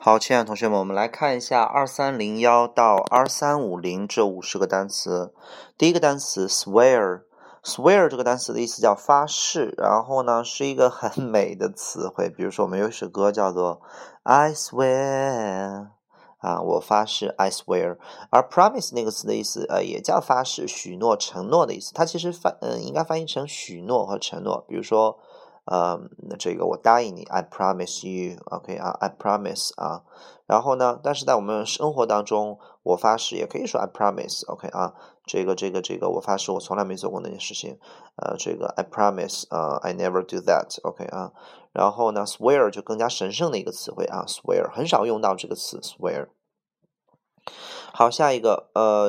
好，亲爱的同学们，我们来看一下2301到2350这50个单词。第一个单词 swear 这个单词的意思叫发誓，然后呢是一个很美的词汇。比如说我们有一首歌叫做 I swear 我发誓 I swear， 而 promise 那个词的意思也叫发誓、许诺、承诺的意思。它其实应该翻译成许诺和承诺。比如说这个我答应你 I promise you，OK I promise 然后呢，但是在我们生活当中，我发誓也可以说 I promise，OK 这个我发誓我从来没做过那件事情，这个 I promise I never do that，OK 然后呢 swear 就更加神圣的一个词汇swear 很少用到这个词 swear。好，下一个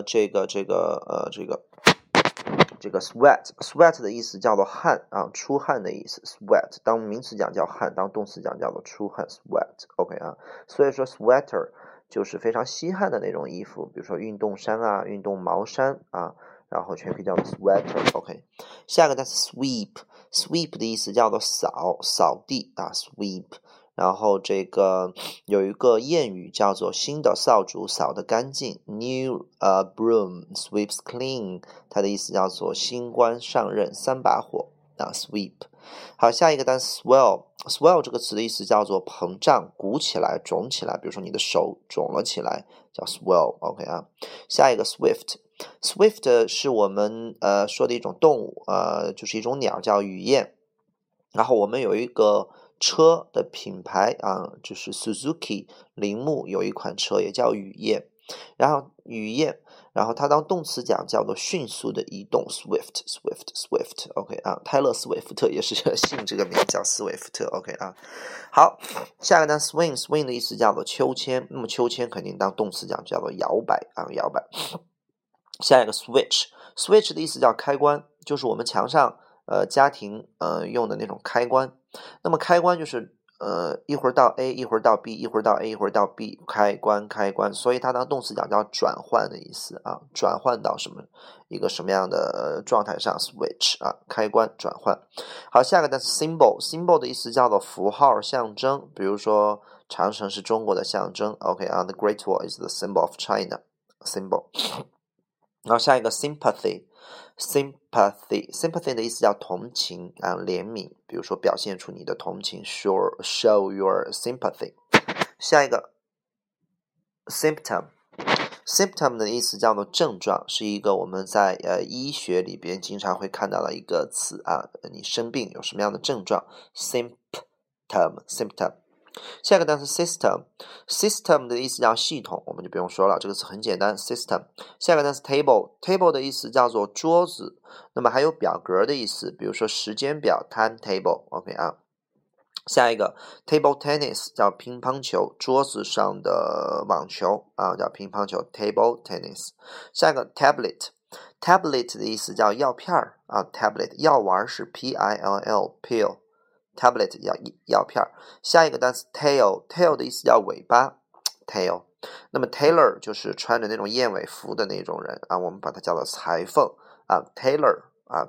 这个 sweat 的意思叫做汗出汗的意思 sweat 当名词讲叫汗，当动词讲叫做出汗 sweat OK 所以说 sweater 就是非常吸汗的那种衣服，比如说运动衫运动毛衫然后全可以叫做 sweater OK。 下一个单词 sweep 的意思叫做扫地sweep。然后这个有一个谚语叫做新的扫帚扫得干净 New broom sweeps clean， 它的意思叫做新官上任三把火sweep。 好，下一个单词 swell 这个词的意思叫做膨胀、鼓起来、肿起来，比如说你的手肿了起来叫 swell OK 下一个 swift 是我们说的一种动物就是一种鸟叫雨燕。然后我们有一个车的品牌就是 Suzuki 铃木有一款车也叫雨燕，然后它当动词讲叫做迅速的移动 Swift OK 泰勒斯威夫特也是姓这个名叫斯威夫特 OK 好，下个单 swing 的意思叫做秋千，那么秋千肯定当动词讲叫做摇摆摇摆。下一个 switch 的意思叫开关，就是我们墙上家庭用的那种开关。那么开关就是一会儿到 A 一会儿到 B 一会儿到 A 一会儿到 B 开关，所以它当动词讲叫转换的意思转换到一个什么样的状态上 switch 开关转换。好，下个单词 symbol 的意思叫做符号象征，比如说长城是中国的象征 OK the Great Wall is the symbol of China symbol。 然后下一个 sympathy 的意思叫同情怜悯，比如说表现出你的同情 show your sympathy。 下一个 symptom 的意思叫做症状，是一个我们在医学里边经常会看到的一个词你生病有什么样的症状 symptom。下一个单词 system 的意思叫系统，我们就不用说了，这个词很简单 system。 下一个单词 table 的意思叫做桌子，那么还有表格的意思，比如说时间表 timetable OK 下一个 table tennis 叫乒乓球，桌子上的网球叫乒乓球 table tennis。 下一个 tablet 的意思叫药片tablet 药丸是 pill pill tablet 药片。下一个单词 tail 的意思叫尾巴 tail。 那么 tailor 就是穿着那种燕尾服的那种人我们把它叫做裁缝tailor。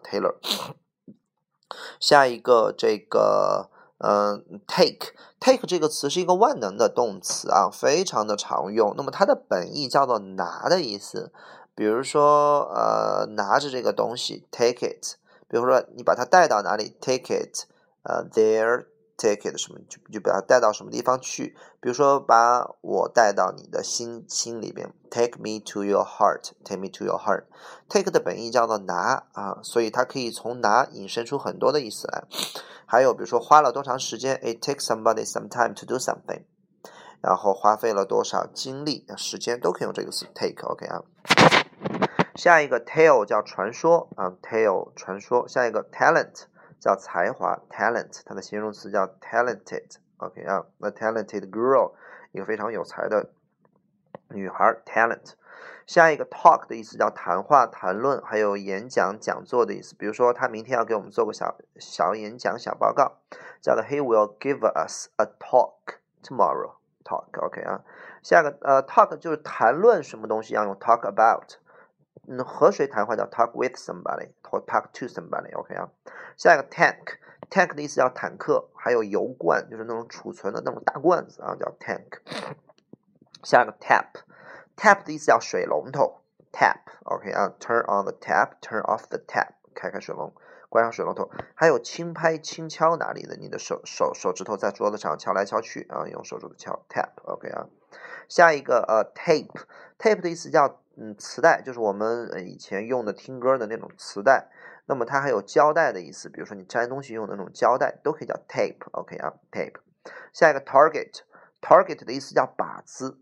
下一个这个take 这个词是一个万能的动词非常的常用，那么它的本意叫做拿的意思，比如说拿着这个东西 take it， 比如说你把它带到哪里 take it there take it 什么就把它带到什么地方去，比如说把我带到你的心里边 take me to your heart take 的本意叫做拿所以它可以从拿引申出很多的意思来。还有比如说花了多长时间 it takes somebody some time to do something， 然后花费了多少精力时间都可以用这个词 take OK 下一个 tale 叫传说tale 传说。下一个 talent 叫才华 talent 它的形容词叫 talented OK a talented girl 一个非常有才的女孩 talent。 下一个 talk 的意思叫谈话谈论，还有演讲讲座的意思，比如说他明天要给我们做个小演讲小报告，叫做 He will give us a talk tomorrow talk OK 下一个talk 就是谈论什么东西要用 talk about， 和谁谈话叫 talk with somebody 或 talk to somebody，OK 啊。下一个 tank 的意思叫坦克，还有油罐，就是那种储存的那种大罐子啊，叫 tank。下一个 tap 的意思叫水龙头 tap，OK 啊 ，turn on the tap，turn off the tap， 开水龙，关上水龙头。还有轻拍轻敲哪里的，你的手指头在桌子上敲来敲去啊，用手指头敲 tap，OK 啊。下一个tape 的意思叫磁带，就是我们以前用的听歌的那种磁带。那么它还有胶带的意思，比如说你粘东西用的那种胶带，都可以叫 tape，OK 啊 tape。下一个 target 的意思叫靶子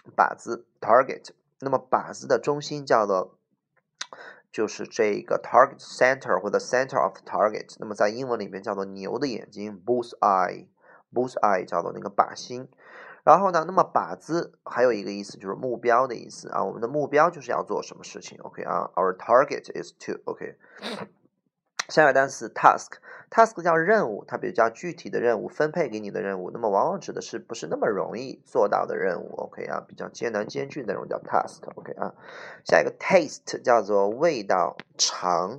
target。那么靶子的中心叫做就是这个 target center 或者 center of target。那么在英文里面叫做牛的眼睛 bull's eye 叫做那个靶心。然后呢，那么靶子还有一个意思就是目标的意思啊，我们的目标就是要做什么事情 ，OK 啊 ，our target is to，OK。下一个单词 task 叫任务，它比较具体的任务，分配给你的任务，那么往往指的是不是那么容易做到的任务 ，OK 啊，比较艰难艰巨的那种叫 task，OK 啊。下一个 taste 叫做味道，尝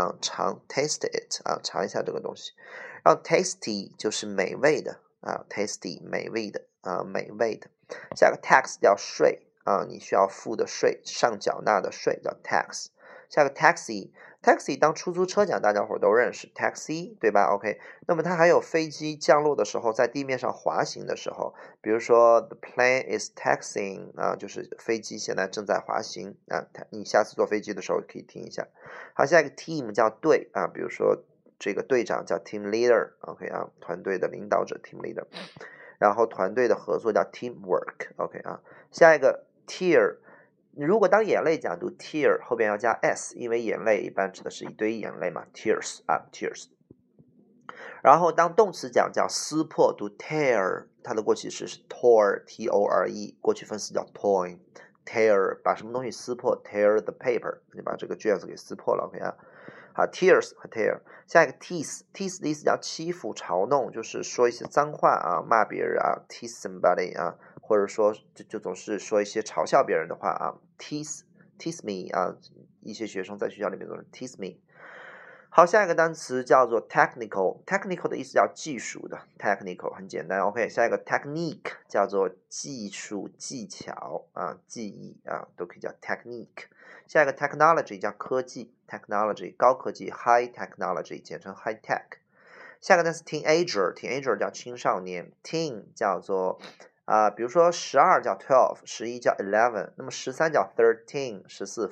taste it 啊，尝一下这个东西。然后 tasty 就是美味的啊 ，tasty 美味的啊，美味的。下一个 tax 叫税啊，你需要付的税，上缴纳的税叫 tax。下一个 taxi 当出租车讲，大家伙都认识 taxi， 对吧 ？OK， 那么它还有飞机降落的时候，在地面上滑行的时候，比如说 the plane is taxiing 啊，就是飞机现在正在滑行啊。你下次坐飞机的时候可以听一下。好，下一个 team 叫队啊，比如说这个队长叫 team leader，OK 啊，团队的领导者 team leader， 然后团队的合作叫 teamwork，OK 啊。下一个 tear。如果当眼泪讲读 tear 后边要加 s， 因为眼泪一般指的是一堆眼泪嘛 ，tears 啊 tears。然后当动词讲叫撕破读 tear， 它的过去式是 tore t-o-r-e， 过去分词叫 tear， 把什么东西撕破 tear the paper， 你把这个卷子给撕破了 ，OK 啊。好 tears 和 tear。下一个 tease 的意思叫欺负嘲弄，就是说一些脏话啊，骂别人啊 tease somebody 啊，或者说就总是说一些嘲笑别人的话啊 tease me 啊，一些学生在学校里面都是 tease me。好，下一个单词叫做 technical 的意思叫技术的 technical 很简单 ，OK。下一个 technique 叫做技术技巧啊，技艺啊，都可以叫 technique。下一个 technology 叫科技 technology 高科技 high technology 简称 high tech。下一个单词 teenager 叫青少年 teen 叫做比如说12叫12， 11叫11，那么13叫13， 14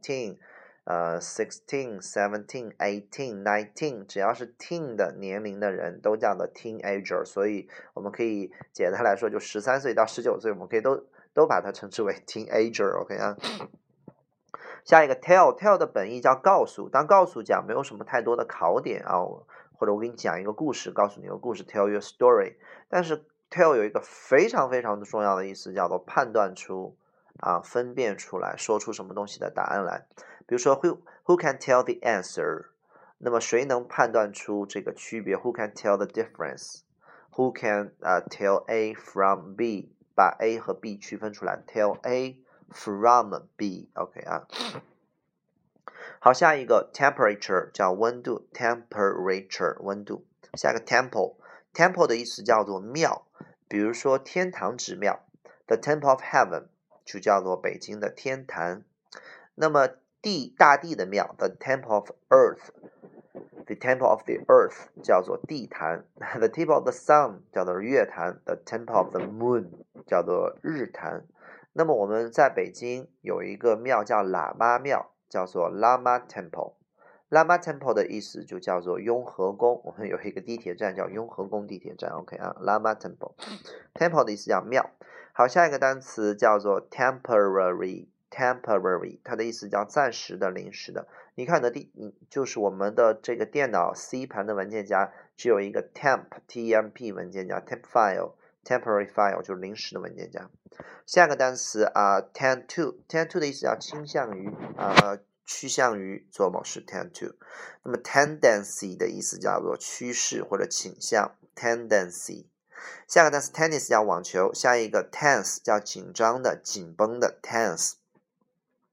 14。16 17 18 19， 只要是 teen 的年龄的人都叫做 teenager， 所以我们可以简单来说，就13岁到19岁，我们可以都把它称之为 teenager，OK 啊。下一个 tell 的本意叫告诉，当告诉讲没有什么太多的考点啊，或者我给你讲一个故事，告诉你个故事 tell you a story， 但是 tell 有一个非常非常的重要的意思，叫做判断出分辨出来，说出什么东西的答案来。比如说 who can tell the answer， 那么谁能判断出这个区别 ？Who can tell the difference？ Who can tell A from B？ 把 A 和 B 区分出来 ，tell A from B，OK 啊。好，下一个 temperature 叫温度 ，temperature 温度。下一个 temple 的意思叫做庙，比如说天堂之庙 ，the temple of heaven 就叫做北京的天坛。那么大地的庙 ，the temple of earth。The temple of the earth 叫做地坛 ，the temple of the sun 叫做月坛 ，the temple of the moon 叫做日坛。那么我们在北京有一个庙叫喇嘛庙，叫做 Lama Temple。Lama Temple 的意思就叫做雍和宫，我们有一个地铁站叫雍和宫地铁站 ，OK 啊 ，Lama Temple。Temple 的意思叫庙。好，下一个单词叫做 temporary， 它的意思叫暂时的、临时的。你看就是我们的这个电脑 C 盘的文件夹只有一个 temp 文件夹 temp file。Temporary file 就是临时的文件夹。下个单词tend to 的意思叫倾向于趋向于做某事 tend to。那么 tendency 的意思叫做趋势或者倾向 tendency。下个单词 tennis 叫网球，下一个 tense 叫紧张的、紧绷的 tense。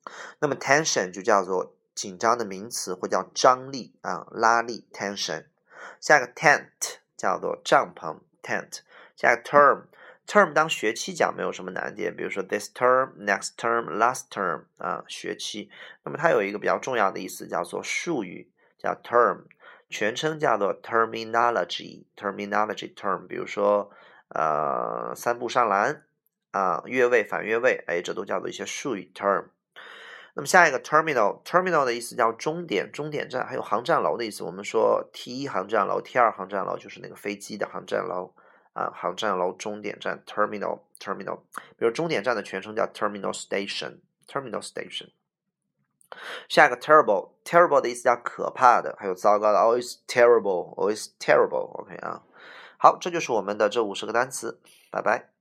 那么 tension 就叫做紧张的名词，或叫张力啊，拉力 tension。下一个 tent 叫做帐篷 tent。下一个 term 当学期讲没有什么难点，比如说 this term, next term, last term 啊，学期。那么它有一个比较重要的意思叫做术语，叫 term， 全称叫做 terminology term， 比如说三步上篮啊，越位反越位，哎，这都叫做一些术语 term。那么下一个 terminal 的意思叫终点、终点站，还有航站楼的意思。我们说 T1 航站楼、T2 航站楼就是那个飞机的航站楼啊，航站楼终点站 terminal。比如终点站的全称叫 terminal station。下一个 terrible 的意思叫可怕的，还有糟糕的 always terrible。OK 啊，好，这就是我们的这50个单词，拜拜。